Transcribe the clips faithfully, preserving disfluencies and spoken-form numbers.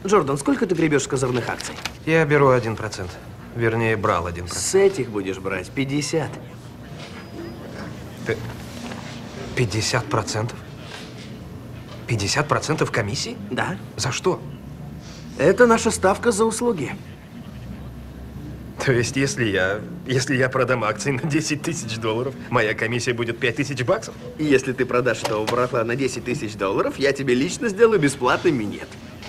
Джордан, сколько ты гребешь с козырных акций? Я беру один процент. Вернее, брал один процент. С этих будешь брать пятьдесят. пятьдесят процентов? пятьдесят процентов комиссии? Да. За что? Это наша ставка за услуги. То есть, если я, если я продам акции на десять тысяч долларов, моя комиссия будет пять тысяч баксов? И если ты продашь этого барахла на десять тысяч долларов, я тебе лично сделаю бесплатный минет.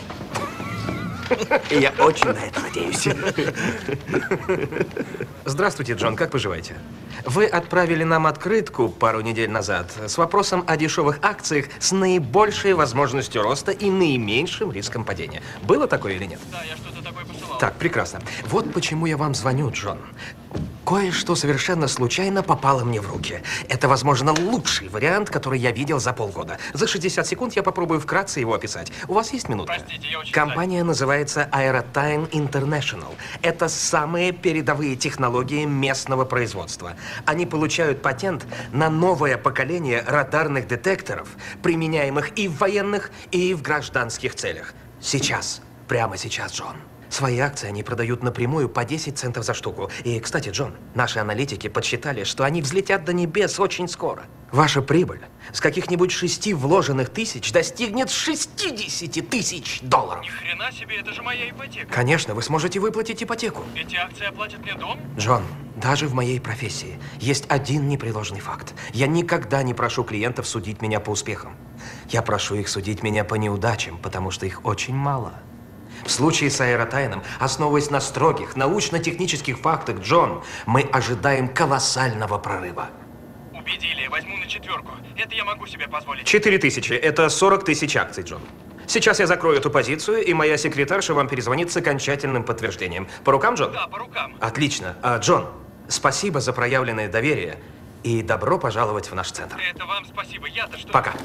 И я очень на это надеюсь. Здравствуйте, Джон, как поживаете? Вы отправили нам открытку пару недель назад с вопросом о дешевых акциях с наибольшей возможностью роста и наименьшим риском падения. Было такое или нет? Да, я что-то такое посылал. Так, прекрасно. Вот почему я вам звоню, Джон. Кое-что совершенно случайно попало мне в руки. Это, возможно, лучший вариант, который я видел за полгода. За шестьдесят секунд я попробую вкратце его описать. У вас есть минутка? Простите, я очень Компания называется Aerotime International. Это самые передовые технологии местного производства. Они получают патент на новое поколение радарных детекторов, применяемых и в военных, и в гражданских целях. Сейчас. Прямо сейчас, Джон. Свои акции они продают напрямую по десять центов за штуку. И, кстати, Джон, наши аналитики подсчитали, что они взлетят до небес очень скоро. Ваша прибыль с каких-нибудь шести вложенных тысяч достигнет шестидесяти тысяч долларов. Ни хрена себе, это же моя ипотека. Конечно, вы сможете выплатить ипотеку. Эти акции оплатят мне дом? Джон, даже в моей профессии есть один непреложный факт. Я никогда не прошу клиентов судить меня по успехам. Я прошу их судить меня по неудачам, потому что их очень мало. В случае с Аэротайном, основываясь на строгих научно-технических фактах, Джон, мы ожидаем колоссального прорыва. Убедили, возьму на четверку. Это я могу себе позволить. Четыре тысячи – это сорок тысяч акций, Джон. Сейчас я закрою эту позицию, и моя секретарша вам перезвонит с окончательным подтверждением. По рукам, Джон? Да, по рукам. Отлично. А, Джон, спасибо за проявленное доверие и добро пожаловать в наш центр. Это вам спасибо. Я-то что? Пока.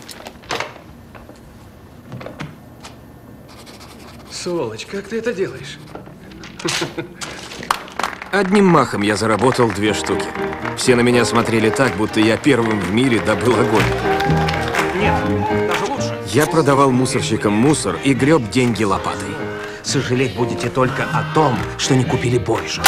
Сволочь, как ты это делаешь? Одним махом я заработал две штуки. Все на меня смотрели так, будто я первым в мире добыл огонь. Нет, даже лучше. Я продавал мусорщикам мусор и греб деньги лопатой. Сожалеть будете только о том, что не купили больше.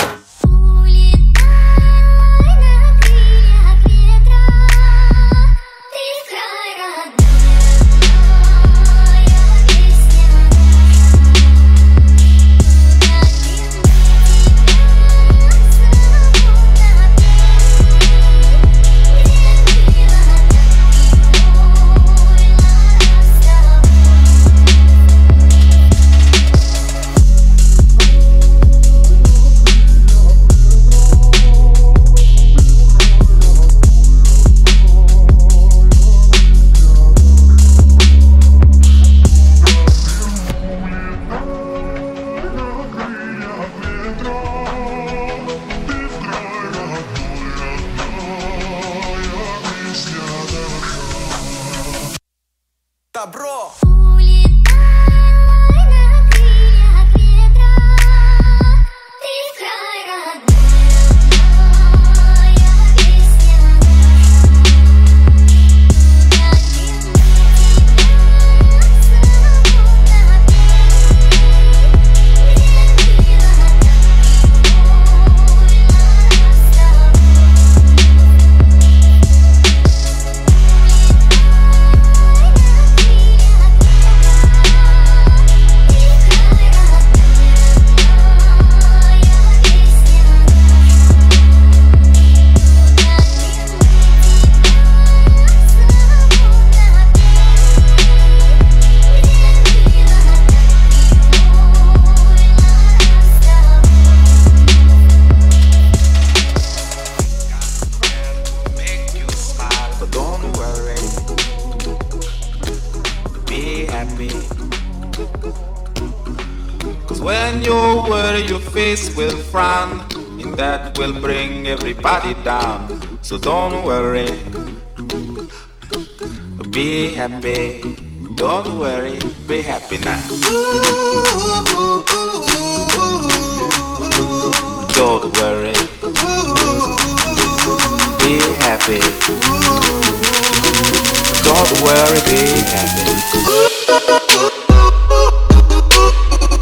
Добро! When you worry, your face will frown, and that will bring everybody down. So don't worry, be happy. Don't worry, be happy now. Don't worry, be happy. Don't worry, be happy.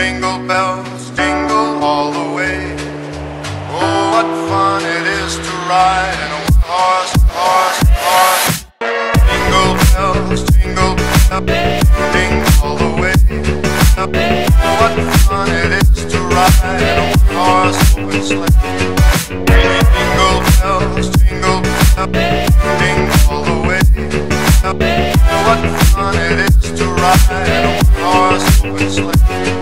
jingle bells, jingle all the way. Oh, what fun it is to ride in a one-horse, horse, horse. Jingle bells, jingle bells, jingle all the way. Oh, what fun it is to ride in a one-horse open sleigh. Jingle bells, jingle bells, jingle all the way. Oh, what fun it is to ride in a one-horse open sleigh.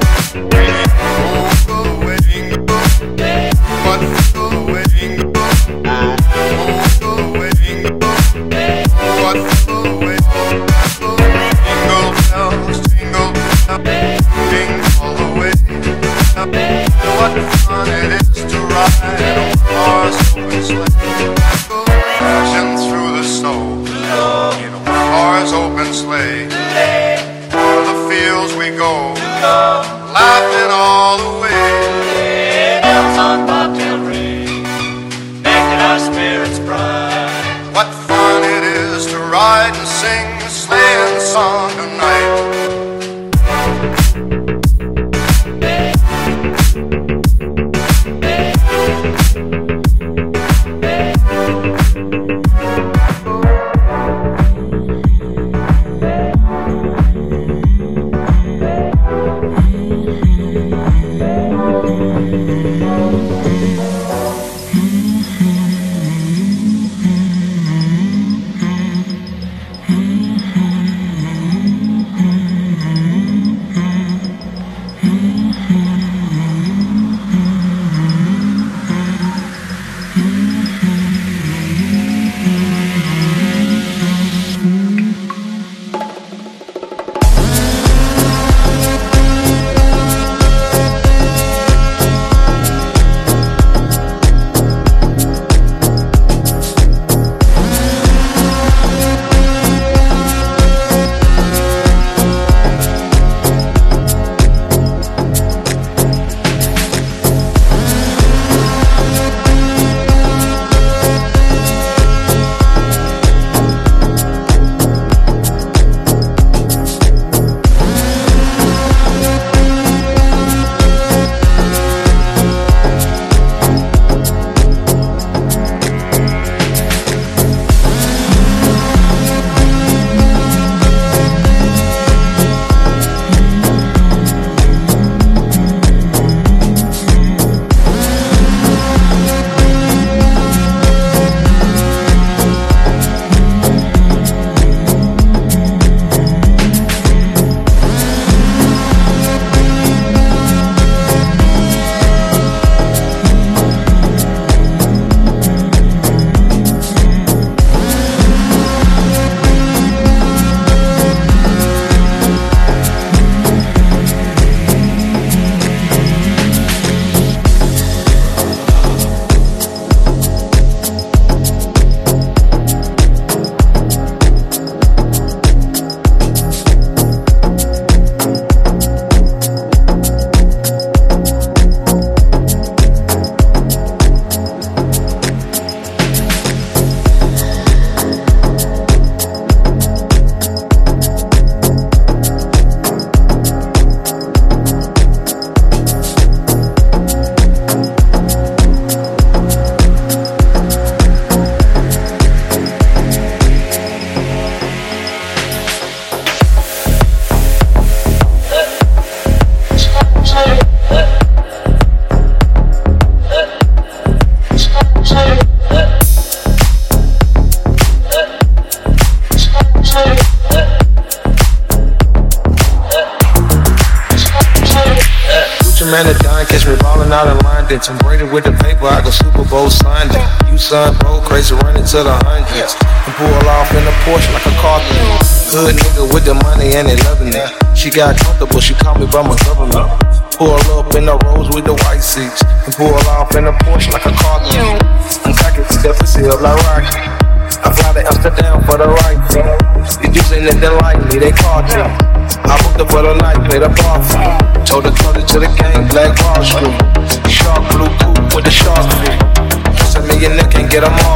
Man, it done. Catch me ballin' out in London. Tom Brady with the paper, I go Super Bowl Sunday. You son, bro, crazy running to the hundreds. And pull off in a Porsche like a carpenter. Hood nigga with the money and they loving it. She got comfortable, she called me by my government. Pull up in the Rolls with the white seats. And pull off in a Porsche like a carpenter. I'm cocky, step and seal like Rocky. I fly to Amsterdam for the right thing. The dudes ain't nothing like me, they caught me. I booked up for the night, played a bar for me. Told the code to the gang, Black Wall Street. Shark blue coupe with the shark feet. Just a million neck can't get them all.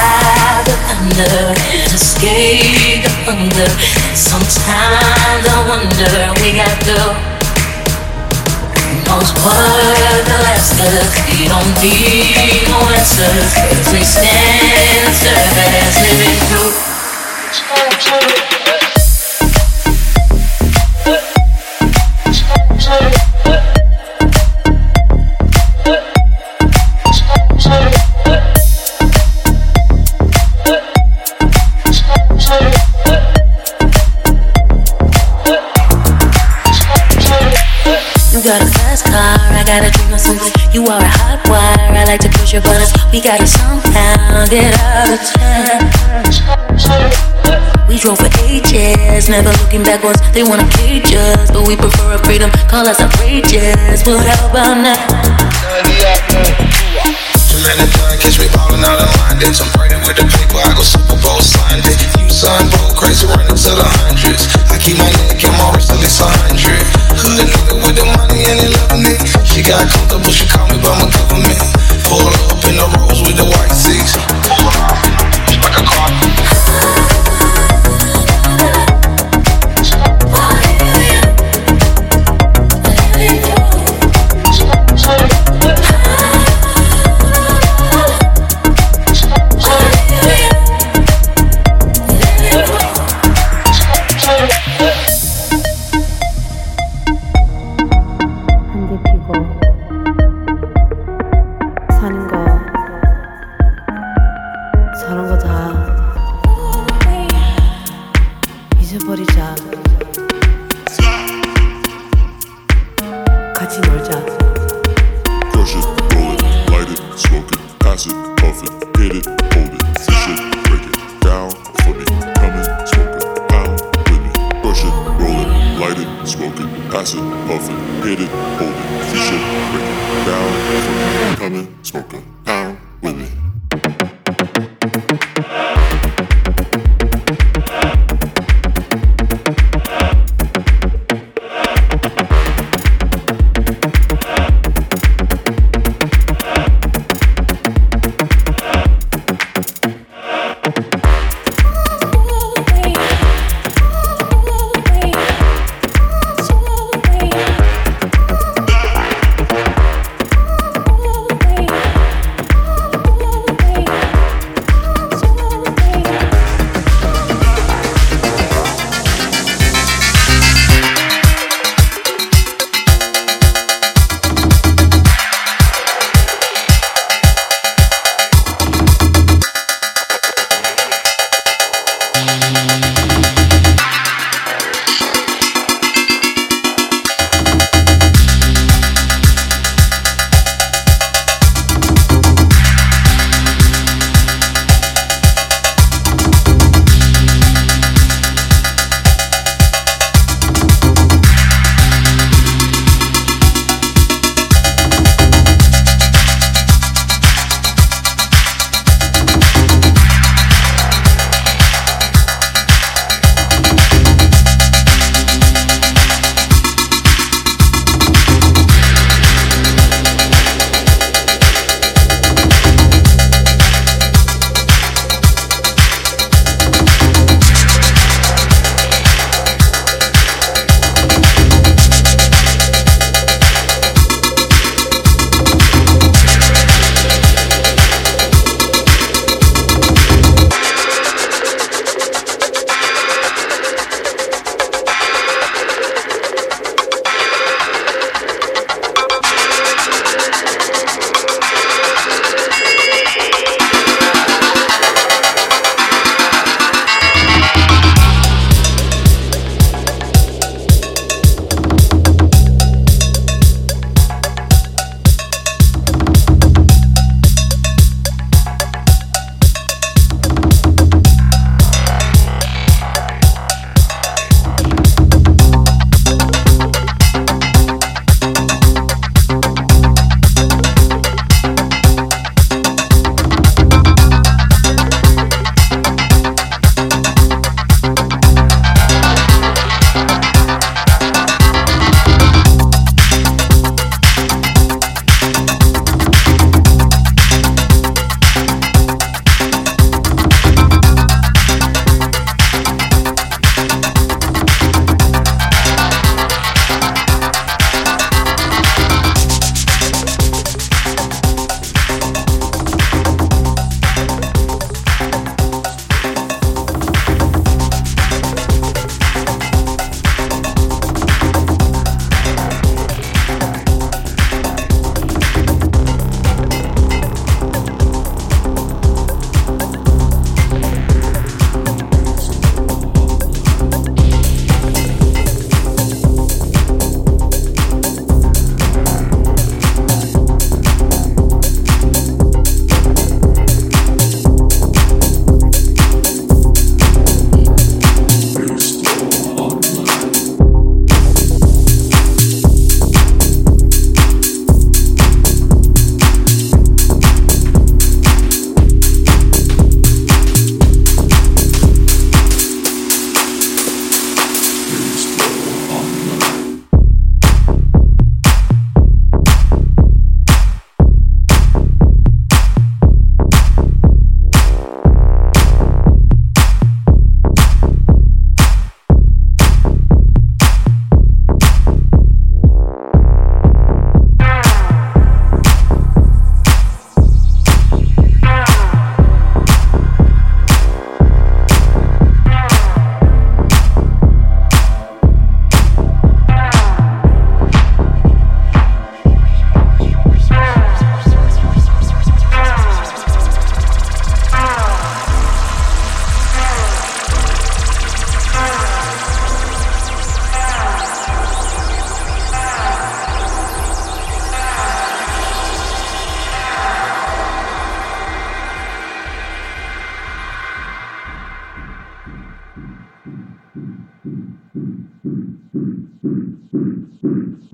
Survive the thunder, escape the thunder. Sometimes I wonder we got the most part the last us. We don't need no answers, 'cause we stand and serve as living proof. You got a fast car, I got a dream of something. You are a hot wire, I like to push your buttons. We gotta somehow get out of town. We drove for ages, never looking backwards. They wanna cage us, but we prefer our freedom. Call us outrageous, but how about now? Too many blind, catch me ballin' out of line. Did some braiding with the paper, I go Super Bowl signed it. You son, bro, crazy running to the hundreds. I keep my neck and my wrist at least a hundred. Hood nigga with the money and they loving it. She got comfortable, she called me by my government. Pull up in the rose with the white seats. Pull off in the beach like a car.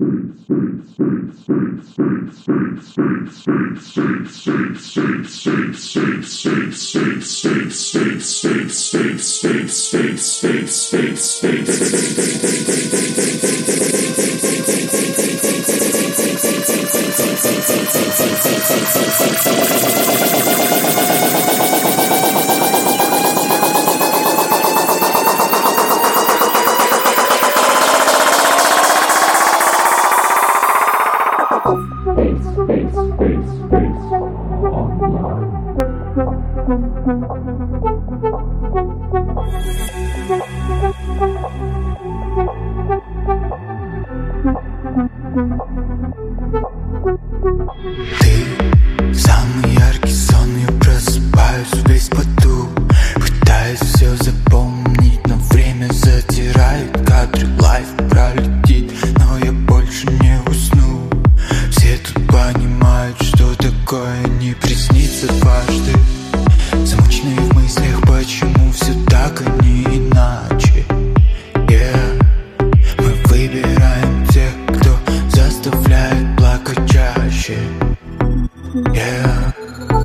Самый яркий сон, я просыпаюсь весь в поту. Пытаюсь все запомнить, но время затирает кадры. Лайф пролетит, но я больше не усну. Все тут понимают, что такое не приснится дважды. Замученные в мыслях, почему все так, а не иначе. Yeah. Мы выбираем тех, кто заставляет плакать чаще. Yeah.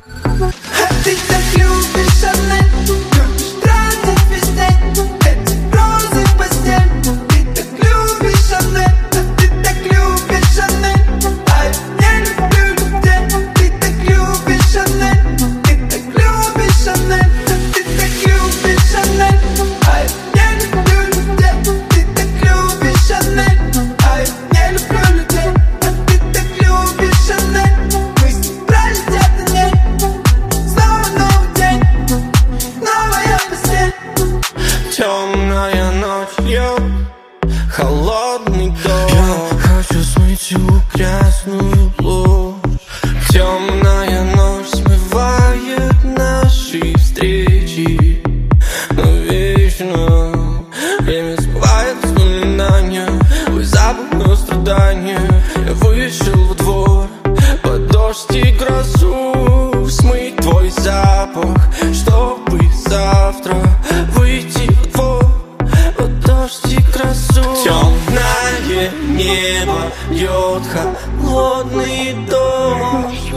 А ты так любишь Шанель, любишь тратить весь день эти розы в постель. Ты так любишь Шанель, а ты так любишь Шанель, а я не люблю людей. Ты так любишь Шанель, ты так любишь Шанель, а ты так любишь Шанель, а я не люблю людей. Ты так любишь Шанель, а я не люблю людей. А ты так любишь Шанель, мысли пролетят на ней. Снова новый день, новая постель. Темная ночь, я холодный дом. Я хочу смыть всю грязную ложь. Темная ночь смывает наши встречи, но вечно время смывает воспоминания. Твой запах, но страдания. Я вышел во двор под дождь и грозу, смыть твой запах, чтобы завтра выйти во двор под дождь и грозу. Темное небо льет холодный дождь.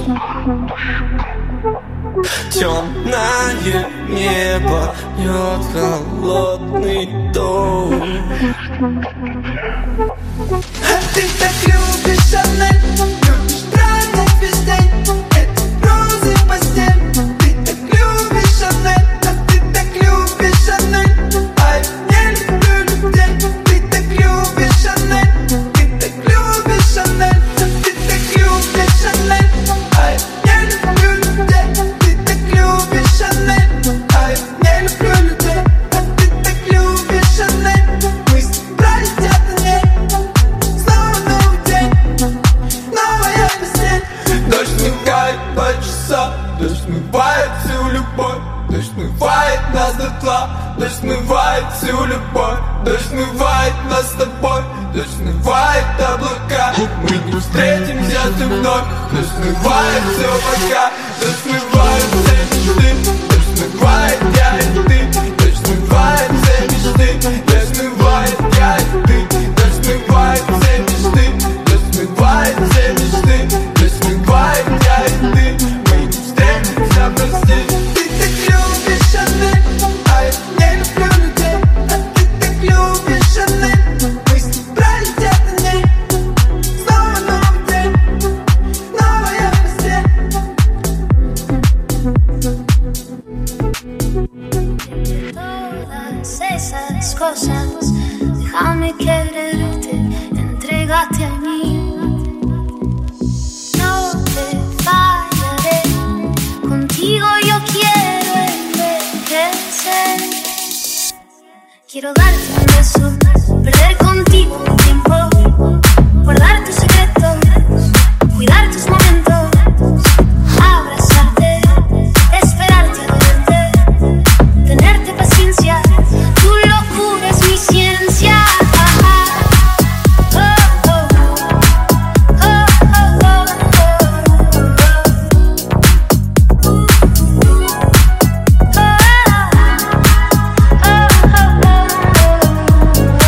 Темное небо льет холодный дождь. А ты так любишь Шанель, любишь тратить весь день эти розы в постель. Ты так любишь Шанель, а ты так любишь Шанель, а я не люблю людей. Ты так любишь Шанель, ты так любишь Шанель, а ты так любишь Шанель, а я не люблю людей. Ты так любишь Шанель, а я не люблю людей. А ты так любишь Шанель, мысли пролетят на ней. Снова новый день, новая постель. Дождь смывает по часам, дождь смывает всю любовь. Дождь смывает нас дотла, дождь смывает всю любовь. Дождь смывает нас с тобой, дождь смывает облака. Мы не встретимся ты вновь. Дождь смывает все пока, дождь смывает все мечты. Дождь смывает я и ты, дождь смывает все мечты. Дождь смывает я и ты, дождь смывает все мечты. Дождь смывает все мечты, дождь смывает я и ты. Мы не встретимся, прости. Ты так любишь Шанель, а я не люблю людей. А ты так любишь Шанель, мысли пролетят на ней. Снова новый день, новая постель. Todas esas cosas, déjame quererte, entrégate a mí. No te fallaré, contigo yo quiero envejecer. Quiero darte un beso, perder contigo un tiempo, guardar tus secretos, cuidar tus momentos, abrazarte, esperarte a verte, tenerte paciencia. Tu locura es mi ciencia. Oh, oh, oh, oh, oh, oh, oh.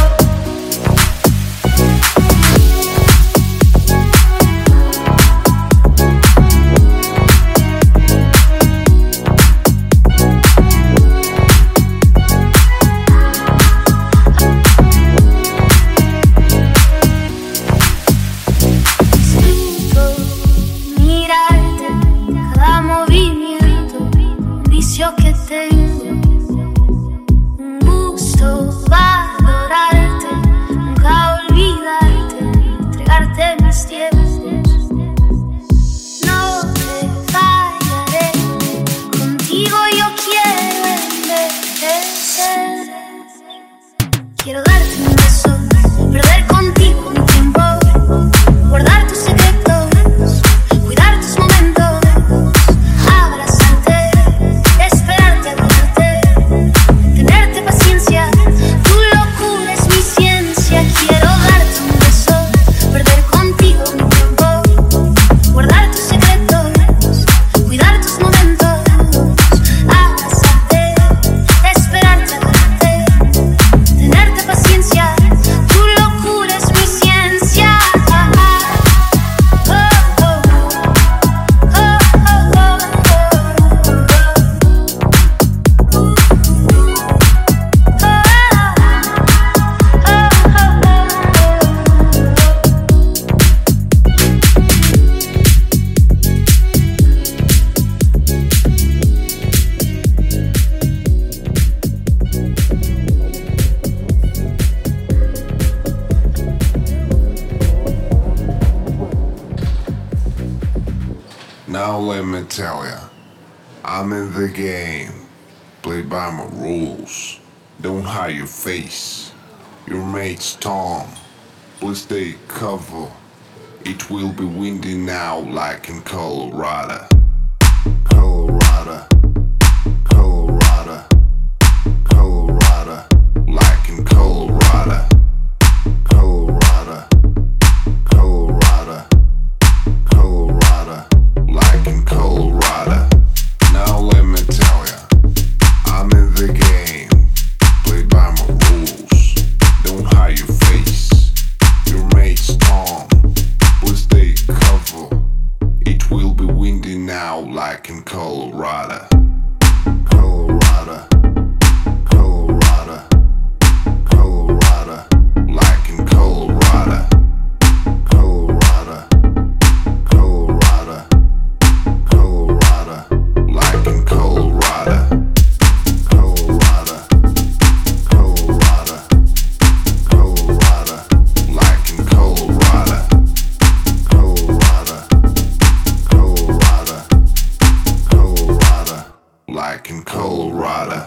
let me tell ya, I'm in the game. Play by my rules. Don't hide your face. Your mate's Tom. Please take cover. It will be windy now like in Colorado. Colorado. Colorado. Colorado. Like in Colorado. Colorado. Colorado. Colorado. Like in Colorado. Now let me tell ya, I'm in the game. Play by my rules. Don't hide your face. Your mate's Tom. Please take cover. It will be windy now like in Colorado. Colorado. Colorado. Colorado. Like in Colorado. Colorado. Colorado. Colorado. Like in Colorado. Colorado. Colorado. Colorado. Like in Colorado. Colorado. Colorado. Colorado. Like in Colorado.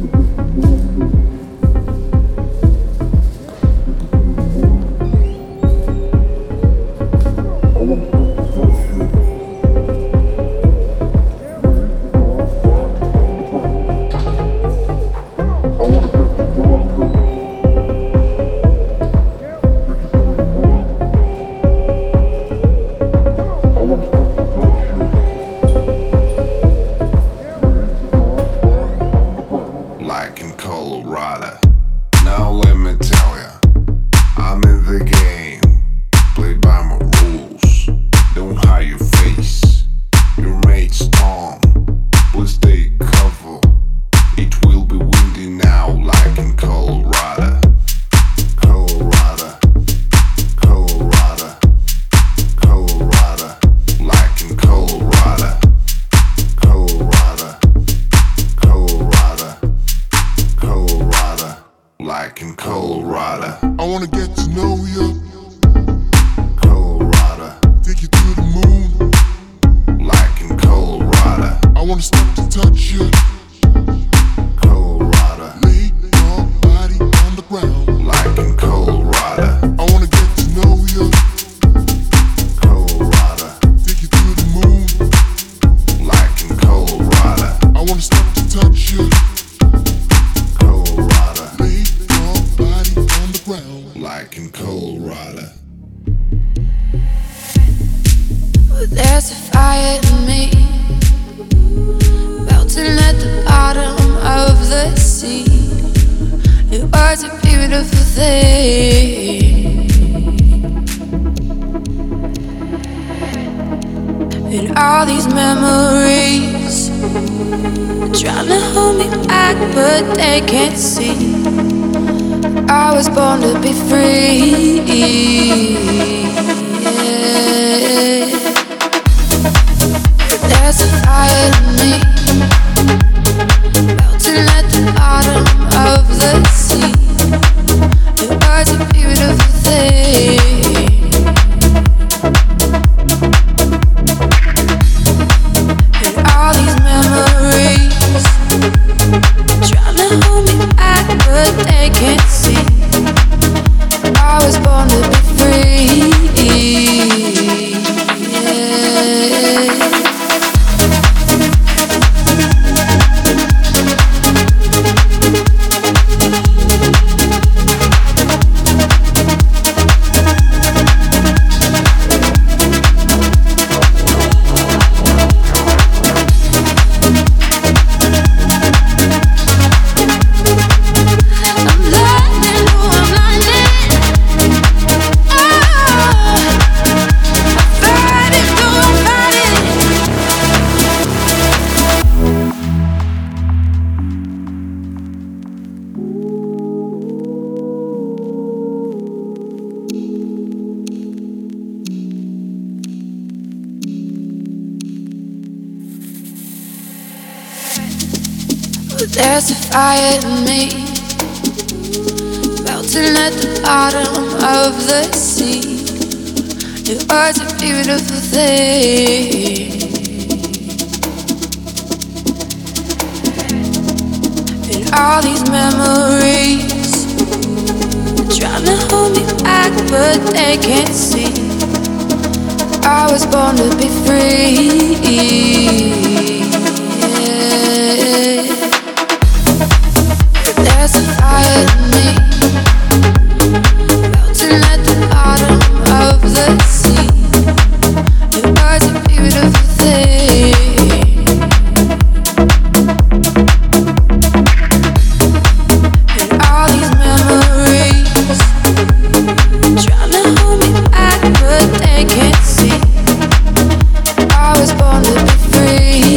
Like in Colorado. Now let me tell ya, I'm in the game. Play by my rules. Don't hide your face. Your mate's Tom. Please take cover. It will be windy now like in Colorado. Colorado. Colorado. Colorado. Like in Colorado. Colorado. Colorado. Colorado. Like in Colorado. I wanna get to know you. Colorado. Take you to the moon. Like in Colorado. I wanna stop to touch you. Colorado. Lay your body on the ground. Like in Colorado. I wanna get to know you. Colorado. Take you to the moon. Like in Colorado. I wanna stop to touch you. Colorado. Lay your body on the ground. Like in Colorado. There's a fire in me, melting at the bottom of the sea. It was a beautiful thing, and all these memories trying to hold me back, but they can't see. I was born to be free. Yeah. There's a fire in me, melting at the bottom of the sea. It was a beautiful thing, and all these memories trying to hold me back, but they can't see. I was born to be free. Yeah. I'm learning who I'm learning. Oh, I'm fighting who I'm fighting. There's a fire in me, melting at the bottom of the sea. It was a beautiful thing, all these memories trying to hold me back, but they can't see I was born to be free. Yeah. There's a fire in me, melting at the bottom of the sea. It was a beautiful thing. And all these memories trying to hold me back, but they can't see I was born to be free.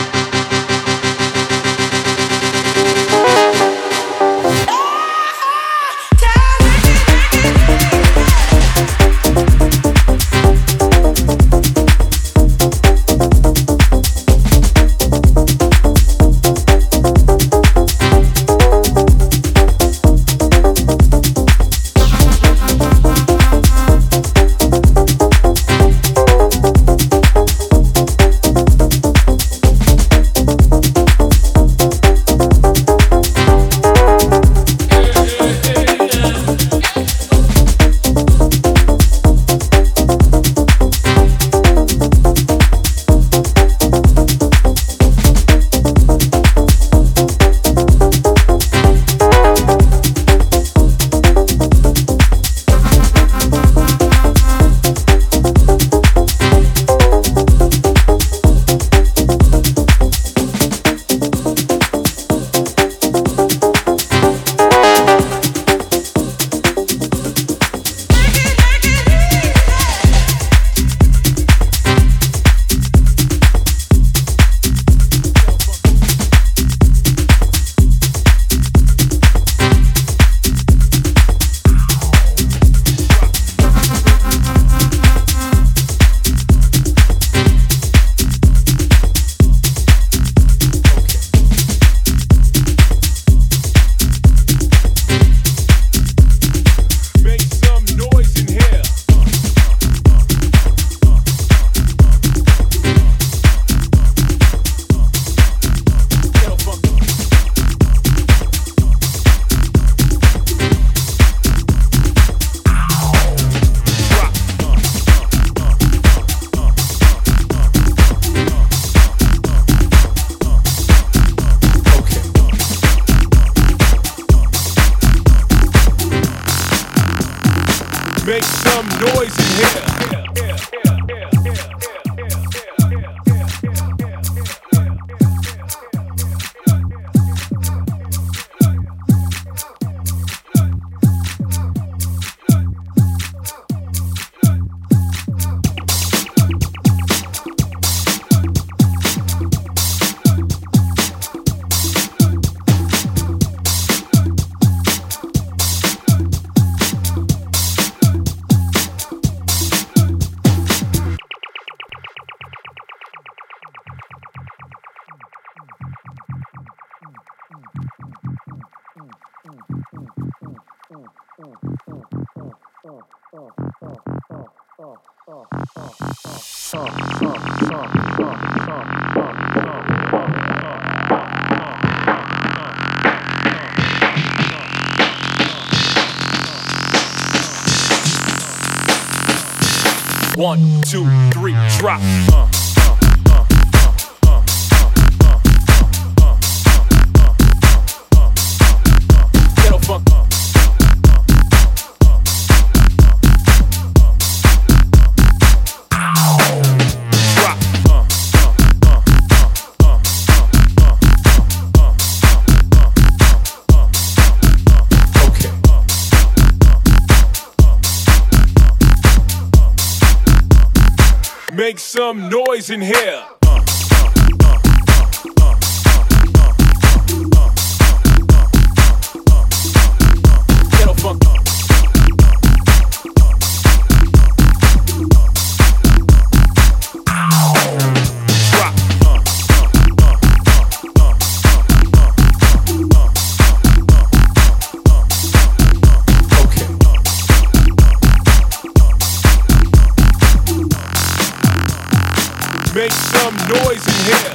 One, two, three, drop. Uh. Make some noise in here. Ghetto funk. Drop. Okay. Make some noise in here.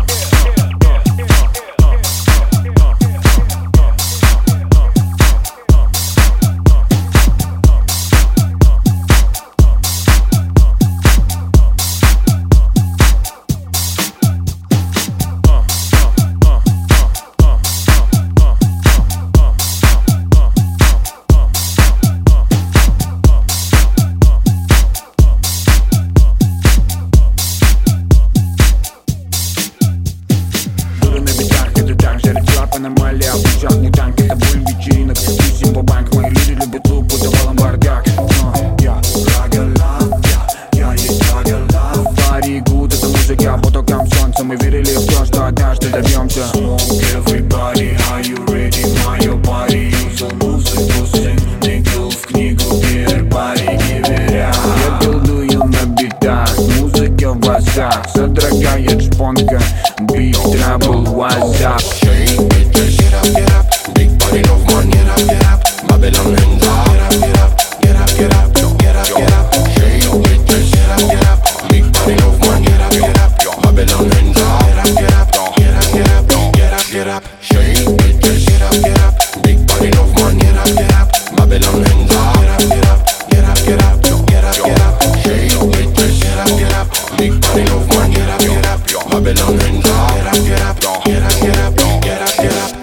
Аномалия, пиджак, мутанк, это боль вечеринок. Тусим по банкам, мои люди любят лук, подавалом бардак. Я рагала, я, я есть рагала. Пари гуд, это музыка, потокам солнца. Мы верили в то, что однажды добьемся. Smoke everybody, are you ready, мое пари? Юзал музыку, сын, тыкал в книгу, гербарий не веря. Я билдую на битах, музыка в глазах. Содрогает шпонка, биг трабл, what's up? Get up, get up, big body of man, get up, get up, Babylon hands up. Get up, get up, get up, get up, get up, shake your bitches. Get up, get up, big body of man, get up, get up, Babylon hands up. Get up, get up, get up, get up, get up, shake your bitches. Get up, get up, big body of man, get up, get up, Babylon hands up. Get up, get up, get up, get up, get up, shake your bitches. Get up, get up, big body of man, get up, get up, Babylon hands up. Get up, get up, get up, get up, get up, get up.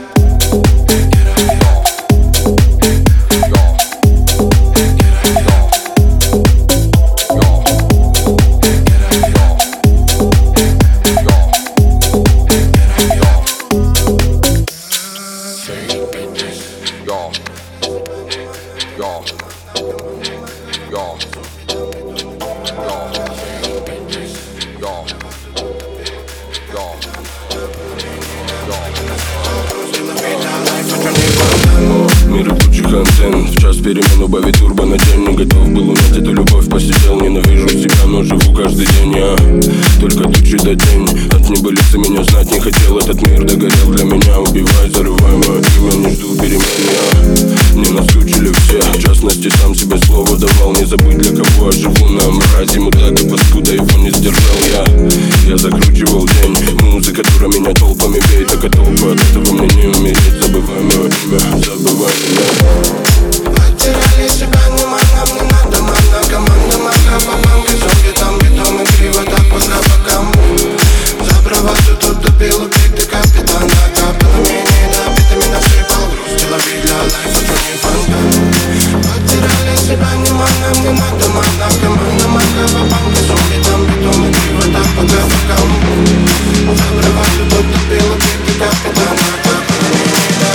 Мир рабочих антенн. В час перемен убавить турбо на день. Не готов был унять эту любовь, посидел. Ненавижу себя, но живу каждый день. Я только тучи до день. От небылицы меня знать не хотел. Этот мир догорел для меня. Убивай, зарывай мое имя, не жду перемен. Я не наскучили все. В частности, сам себе слово давал. Не забыть, для кого я живу. На мразе мудак и паскуда, его не сдержал я. Я закручивал день. Музыка, которая меня толпами бей. Так и толпа, от этого мне не умереть. Забывай мое имя, забывай меня. Потеряли себя, не мана, не надо, мана, команда, мана, бабанка, зомби, там бетон и криво, так пока бокам. За браваду тут добил, убить ты капитана, капелами не добитыми насыпал груз, делови для лайфа, что не фанка. Потеряли себя, не мана, не надо, мана, команда, мана, бабанка, зомби, там бетон и криво, так пока бокам. За браваду тут добил, убить ты капитана, капелами не добитыми.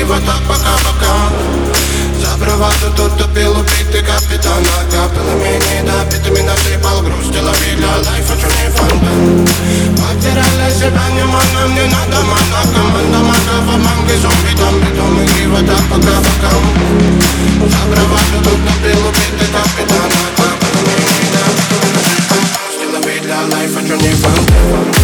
говори вот так пока-пока. За браваду тут тупил убитый капитан. Капеллами недопитыми насыпал груз. Деловый для лайфа, чё не фонтан. Потеряли себя, не мана, мне надо мана. Команда макафа, манги, зомби, там битом. Игри вот так пока-пока. За браваду тут тупил убитый капитан. Капеллами недопитыми насыпал груз. Деловый для лайфа, чё не фонтан.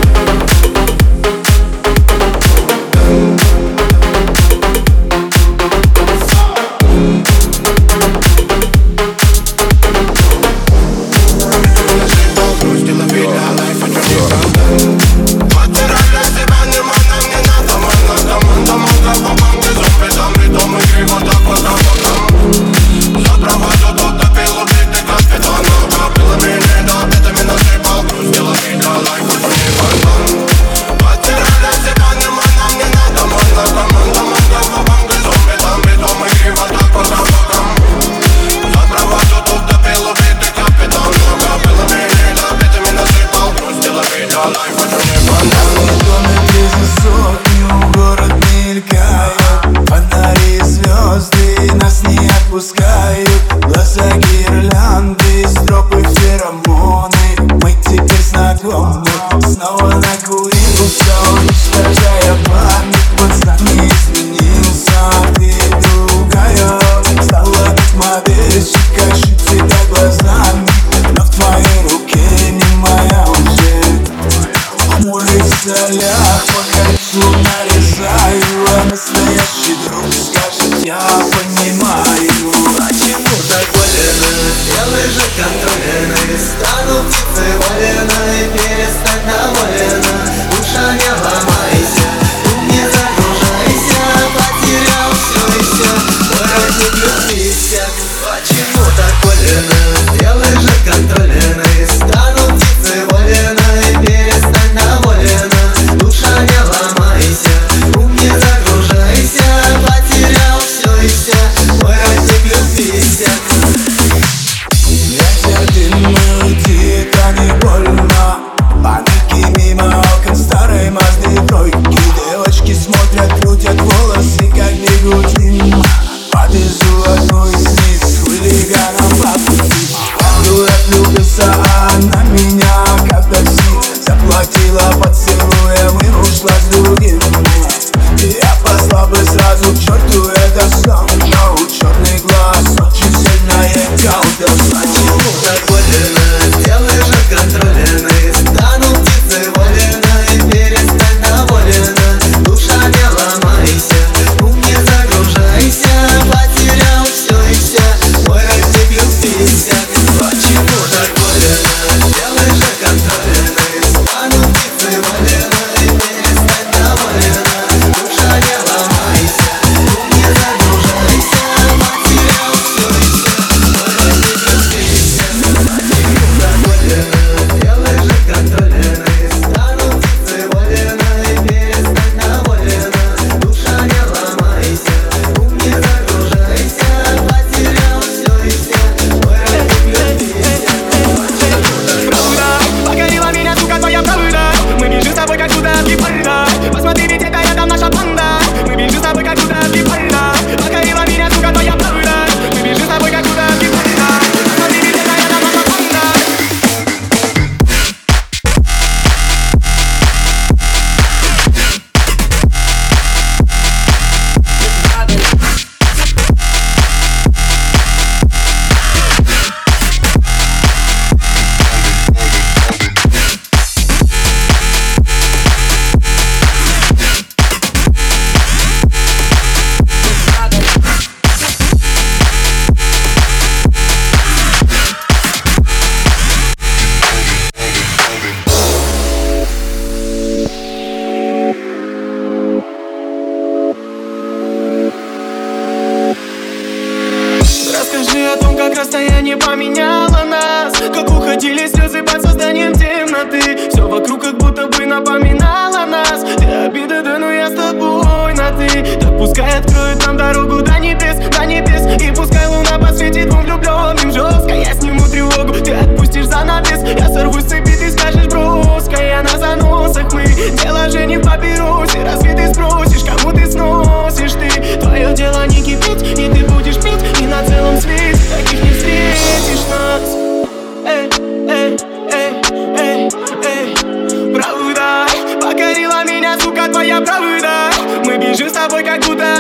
расстояние поменяло нас, как уходили слезы под созданием темноты. Все вокруг как будто бы напоминало нас. Ты обида, да, но я с тобой на ты. Так пускай откроет нам дорогу до небес, до небес. И пускай луна посветит двум влюбленным жестко. Я сниму тревогу, ты отпустишь занавес. Я сорвусь с цепи, ты скажешь броская на заносах мы. Дело же не в папиросе, разве ты спросишь, кому ты сносишь ты?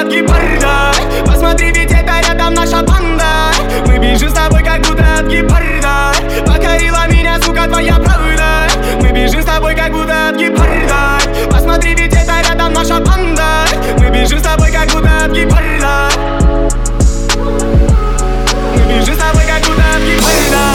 от гепарда. Посмотри, ведь это рядом наша банда. Мы бежим с тобой, как будто от гепарда. Покорила меня, сука, твоя правда. Мы бежим с тобой, как будто от гепарда. Посмотри, ведь это рядом наша банда. Мы бежим с тобой, как будто от гепарда. Мы бежим с тобой, как будто от гепарда.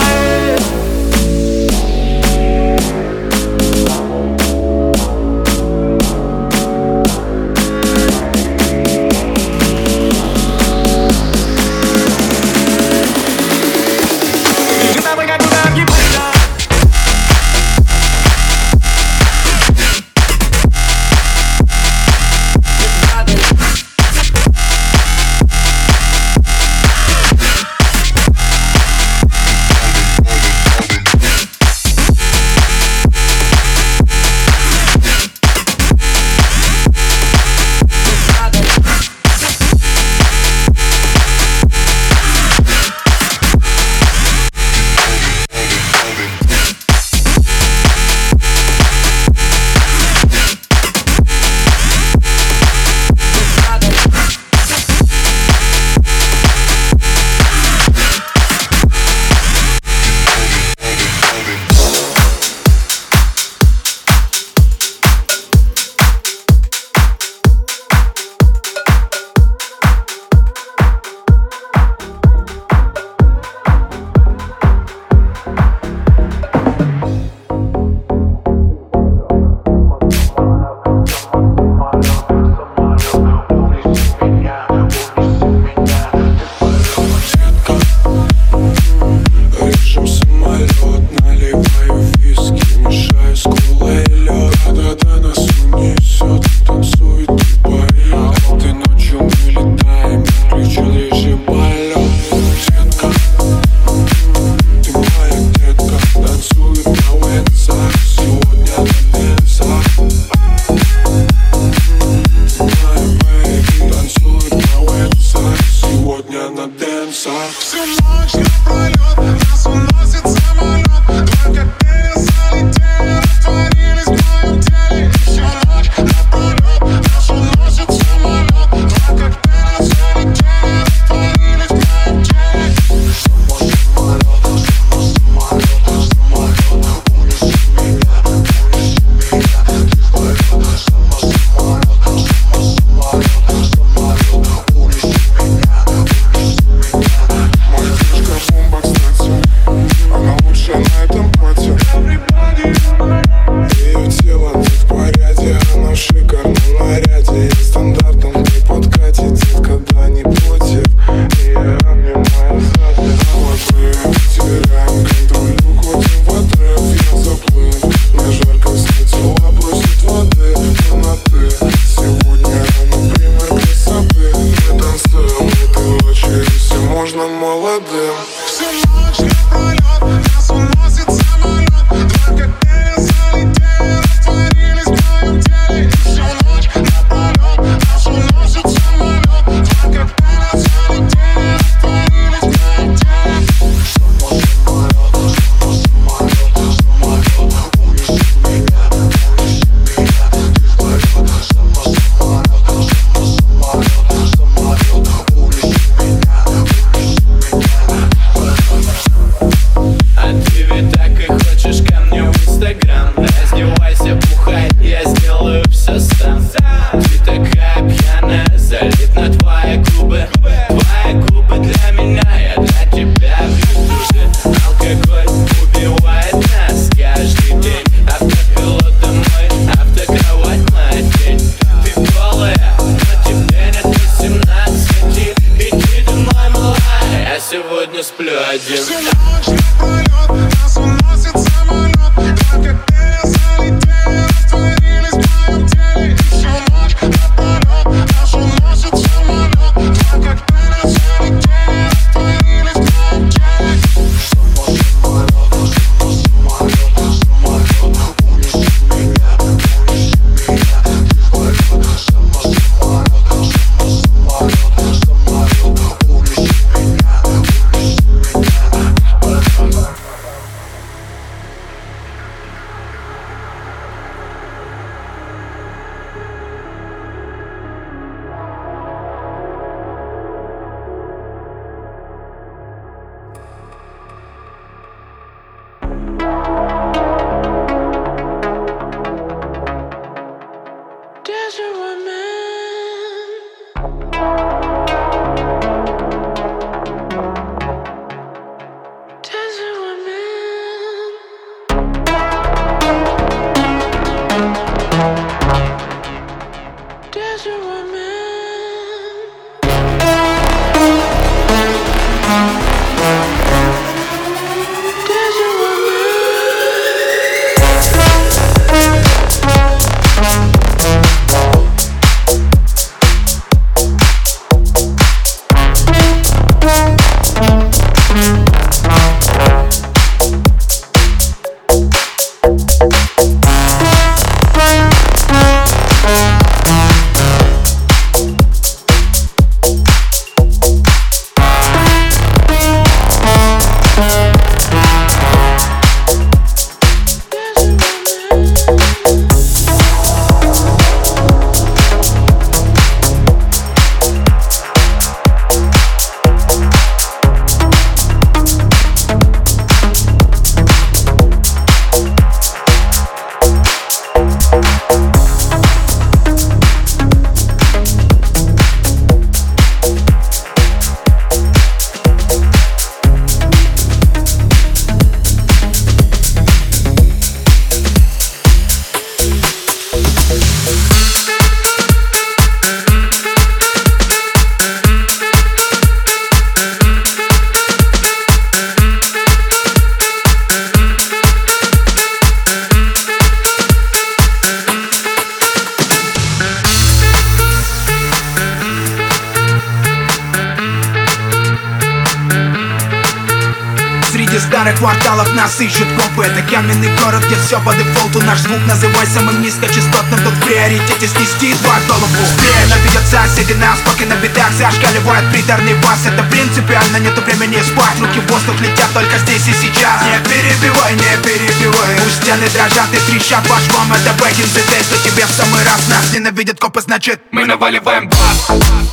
паре кварталов нас ищут копы. Это каменный город, где все по дефолту. Наш звук называй самым низкочастотным. Тут в приоритете снести твою голову. Ненавидят соседи нас, пока на бедах зашкаливает приторный бас. Это принципиально, нету времени спать. Руки в воздух летят только здесь и сейчас. Не перебивай, не перебивай. Пусть стены дрожат и трещат по швам. Это back in the day, что тебе в самый раз. Нас ненавидят копы, значит мы наваливаем бас.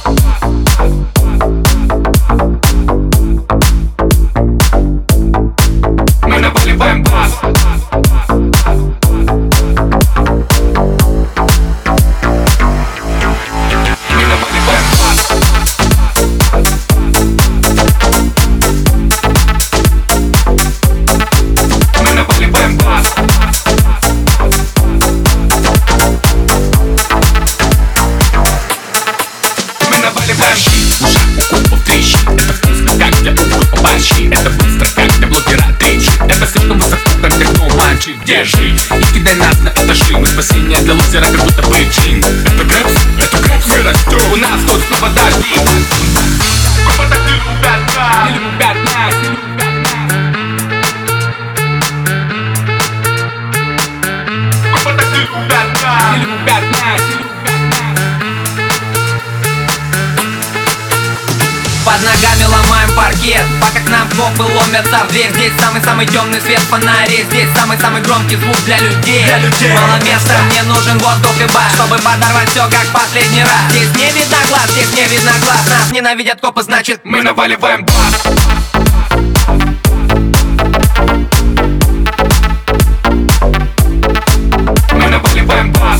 Мы наваливаем бас. Мы наваливаем бас. Мы наваливаем бас. Мы наваливаем щит. Ушах у копов трещит. Это вкусно, как для уха борщи. Это быстро, как для блогера трещит. Это слишком высоко, как для мальчик. Держи и кидай нас на этажи. Мы спасение для лузера, как будто бы джин. Это грэпс, это грэпс, мы растем. У нас тут снова дожди. Копы так не любят нас. Не любят нас, не любят нас. Копы так не любят нас. Не любят нас, не любят нас. Под ногами ломаем паркет, пока к нам копы ломятся в дверь. Здесь самый-самый темный свет фонарей. Здесь самый-самый громкий звук для людей. Для людей. Мало места, мне нужен воздух и бар, чтобы подорвать все как последний раз. Здесь не видно глаз, здесь не видно глаз. Нас ненавидят копы, значит мы наваливаем бас. Мы наваливаем бас.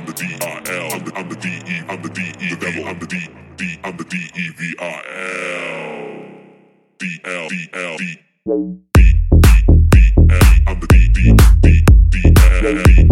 I'm the D I L. I'm the, I'm the D E. I'm the D E. The devil. I'm the D D. I'm the D E V I L. D L D L D. I'm the D D D D L D.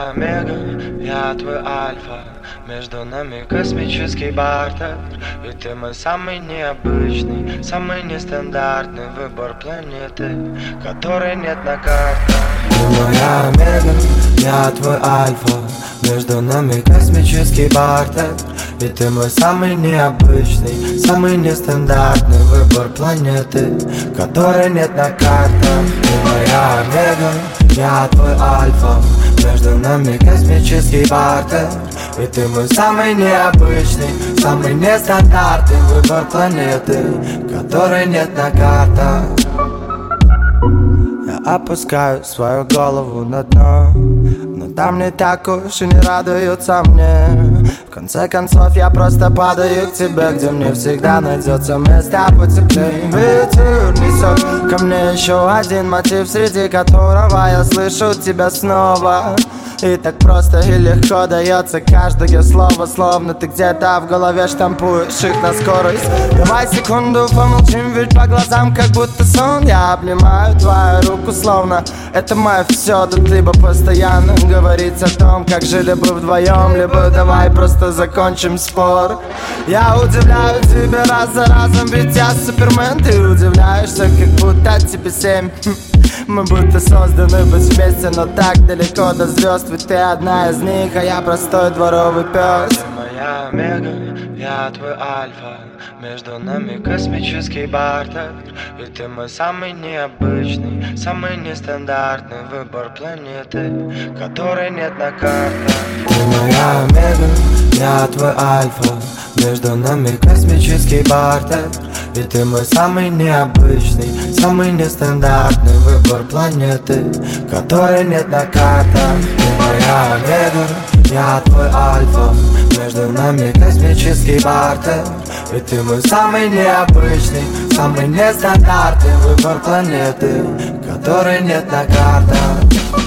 моя омега, я твой альфа. Между нами космический бартер. И ты мой самый необычный, самый нестандартный выбор планеты, которой нет на картах. Ты моя омега, я твой альфа. Между нами космический бартер. И ты мой самый необычный, самый нестандартный выбор планеты, которой нет на картах. Ты моя омега, я твой альфа. Между нами космический бартер. И ты мой самый необычный, самый нестандартный выбор планеты, которой нет на картах. Я опускаю свою голову на дно, но там не так уж и не радуются мне. В конце концов я просто падаю к тебе, где мне всегда найдется место потеплее. Ветер несет ко мне еще один мотив, среди которого я слышу тебя снова. И так просто и легко дается каждое слово, словно ты где-то в голове штампуешь их на скорость. Давай секунду помолчим, ведь по глазам как будто сон. Я обнимаю твою руку, словно это мое все. Да ты бы постоянно говорить о том, как жили бы вдвоем. Либо давай просто закончим спор. Я удивляю тебя раз за разом, ведь я супермен. Ты удивляешься, как будто тебе семь. Мы будто созданы быть вместе, но так далеко до звезд. Ведь ты одна из них, а я простой дворовый пес. Ты моя омега, я твой альфа. Между нами космический бартер. И ты мой самый необычный, самый нестандартный выбор планеты, которой нет на картах. Ты моя омега, я твой альфа. Между нами космический бартер. И ты мой самый необычный, самый нестандартный выбор планеты, которой нет на картах. Ты моя омега, я твой альфа. Между нами космический бартер. И ты мой самый необычный, самый нестандартный выбор планеты, которой нет на картах.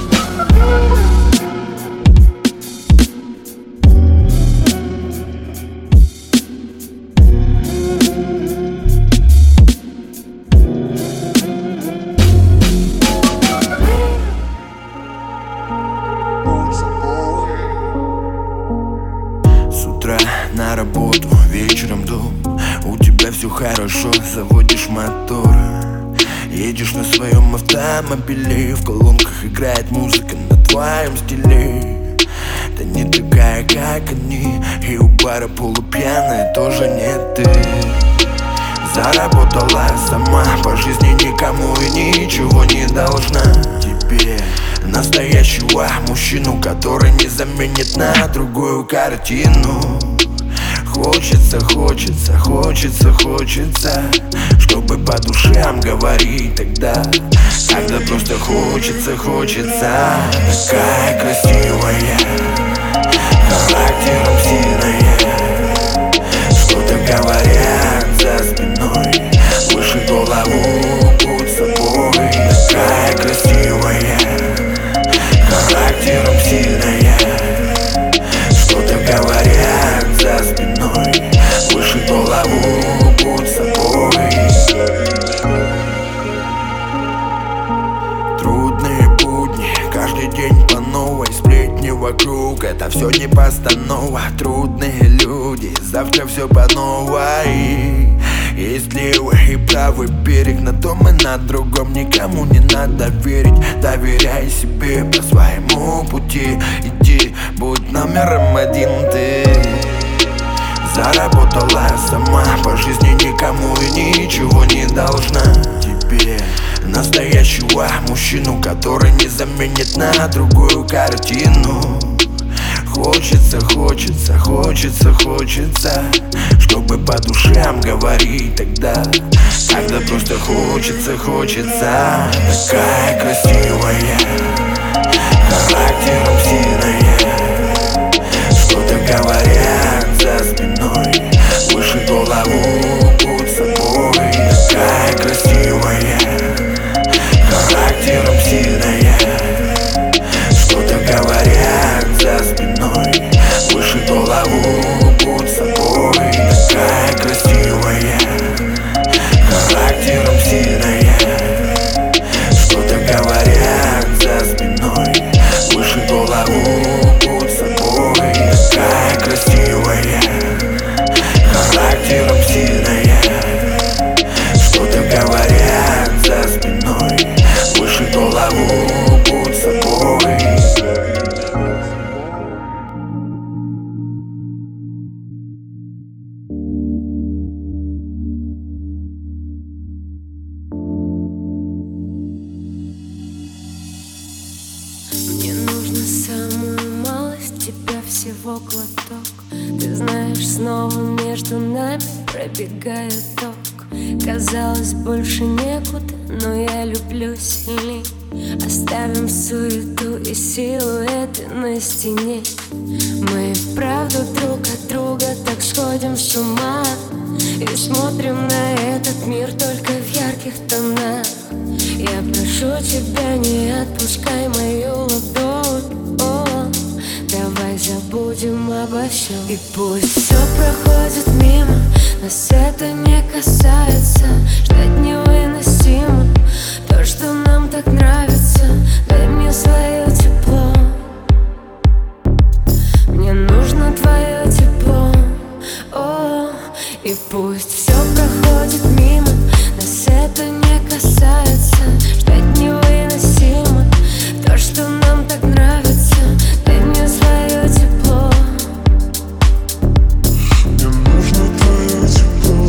На работу, вечером дом. У тебя все хорошо, заводишь мотор. Едешь на своем автомобиле, в колонках играет музыка на твоем стиле. Да не такая, как они, и у бара полупьяная тоже не ты. Заработала сама, по жизни никому и ничего не должна. Тебе настоящего мужчину, который не заменит на другую картину. Хочется, хочется, хочется, хочется, чтобы по душам говорить тогда, когда просто хочется, хочется. Такая красивая, характером сильная, что-то говорят за спиной, выше голову под собой. Такая красивая, характером сильная, что-то говорят за спиной, выше голову под собой. Трудные будни, каждый день по новой. Сплетни вокруг, это все не постанова. Трудные люди, завтра все по новой. Есть левый и правый берег, на том и на другом никому не надо верить. Доверяй себе по своему пути, иди, будь номером один ты. Заработала сама, по жизни никому и ничего не должна. Тебе настоящего мужчину, который не заменит на другую картину. Хочется, хочется, хочется, хочется, чтобы по душам говорить тогда, когда просто хочется, хочется. Такая красивая, характером сильная, что-то говорят за спиной, выше голову под собой. Такая красивая, характером сильная, что-то говорят за спиной, выше голову под собой. Такая красивая, характером сильная, что-то говорят за спиной, его глоток. Ты знаешь, снова между нами пробегает ток. Казалось, больше некуда, но я люблю сильней. Оставим суету и силуэты на стене. Мы вправду друг от друга так сходим с ума и смотрим на этот мир только в ярких тонах. Я прошу тебя, не отпускай мою ладонь. О, давай забудем обо всем. И пусть все проходит мимо, нас это не касается. Ждать невыносимо то, что нам так нравится. Дай мне свое тепло, мне нужно твое тепло. О, и пусть все проходит мимо, нас это не касается. Ждать невыносимо то, что нам так нравится. Дай мне свое тепло, мне нужно твое тепло.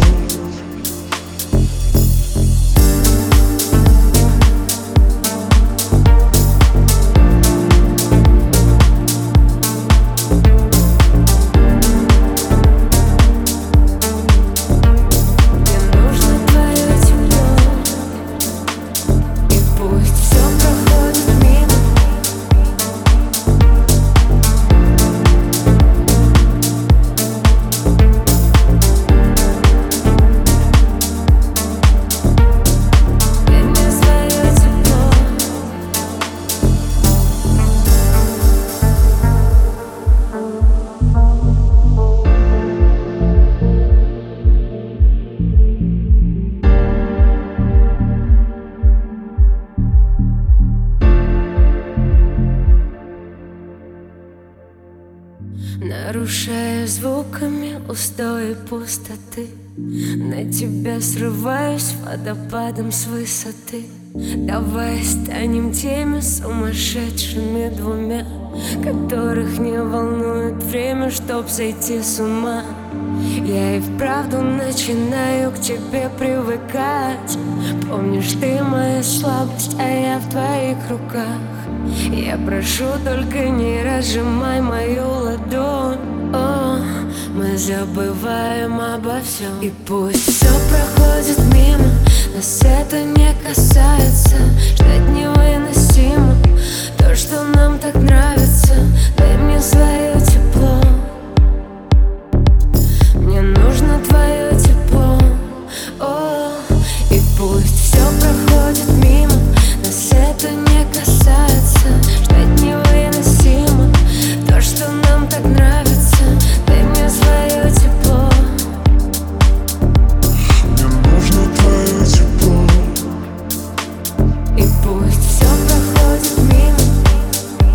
нарушая звуками устои пустоты. На тебя срываюсь водопадом с высоты. Давай станем теми сумасшедшими двумя, которых не волнует время, чтоб сойти с ума. Я и вправду начинаю к тебе привыкать. Помнишь, ты моя слабость, а я в твоих руках. Я прошу, только не разжимай мою ладонь. О, мы забываем обо всем. И пусть все проходит мимо, нас это не касается. Ждать невыносимо то, что нам так нравится. Дай мне свое тепло, мне нужно твое тепло. О, и пусть все проходит мимо, нас это не касается. Ждать невыносимо то, что нам так нравится. Дай мне свое тепло, мне нужно твое тепло. и пусть все проходит мимо.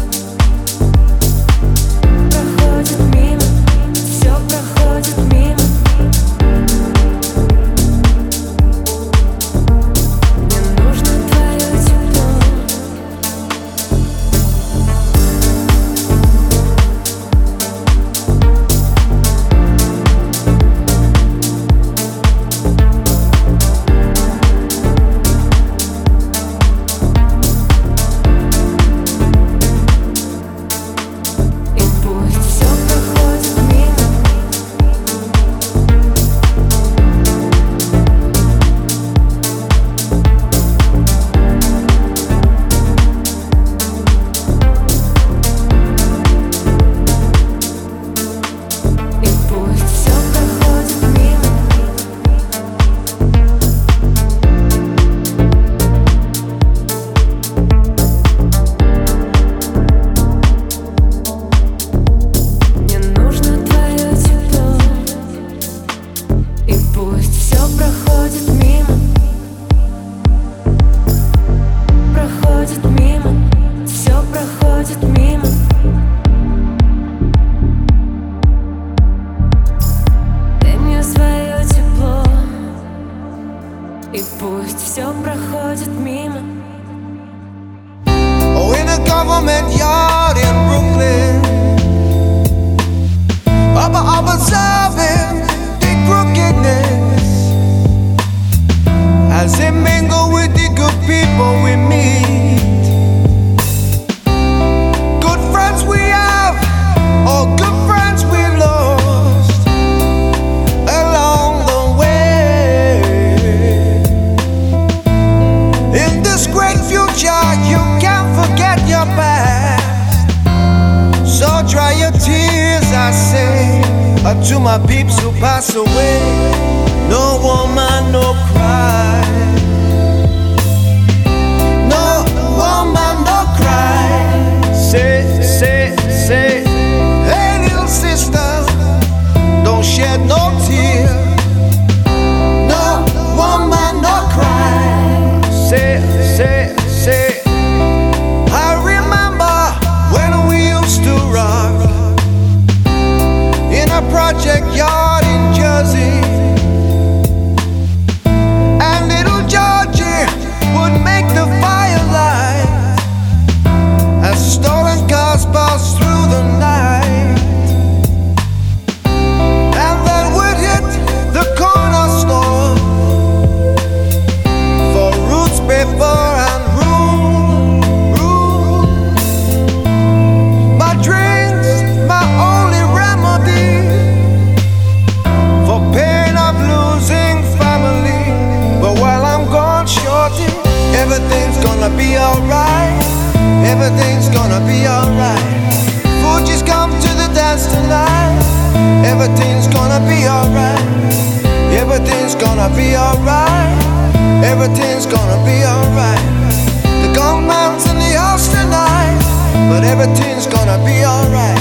tears I say are to my peeps who pass away. No woman, no cry. No woman, no cry. Say, say, say, hey little sister, don't shed no tear. No woman, no cry. Say, say, say, I remember when we used to rock in a project yard in Jersey, and little Georgie would make the firelight as stolen cars passed through the night, and then we'd hit the corner store for roots, paper, and room, room. My drinks, my only remedy for pain of losing family. But while I'm gone, shorty, everything's gonna be alright. Everything's gonna be alright. Fuji's come to the dance tonight. Everything's gonna be alright. Everything's gonna be alright. Everything's gonna be alright. The gunman's in the house tonight, but everything's gonna be alright.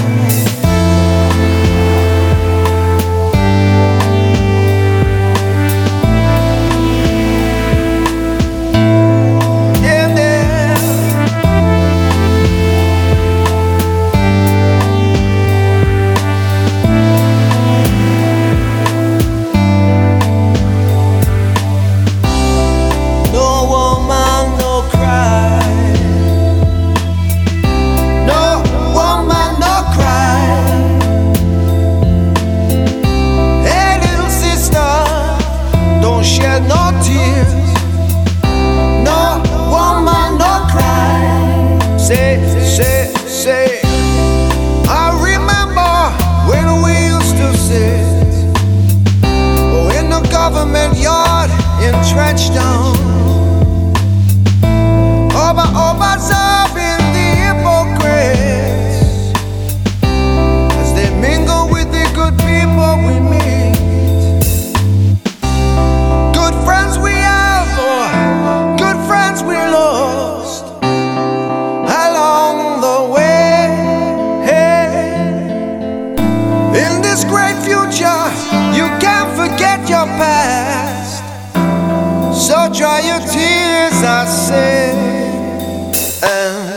No tears, no woman, no cry. Say, say, say, I remember when we used to sit oh, in the government yard in Trenchtown, over, observing the hypocrites as they mingle with the good people we meet. Friends we have, or good friends we lost along the way. In this great future, you can't forget your past. So dry your tears, I say, and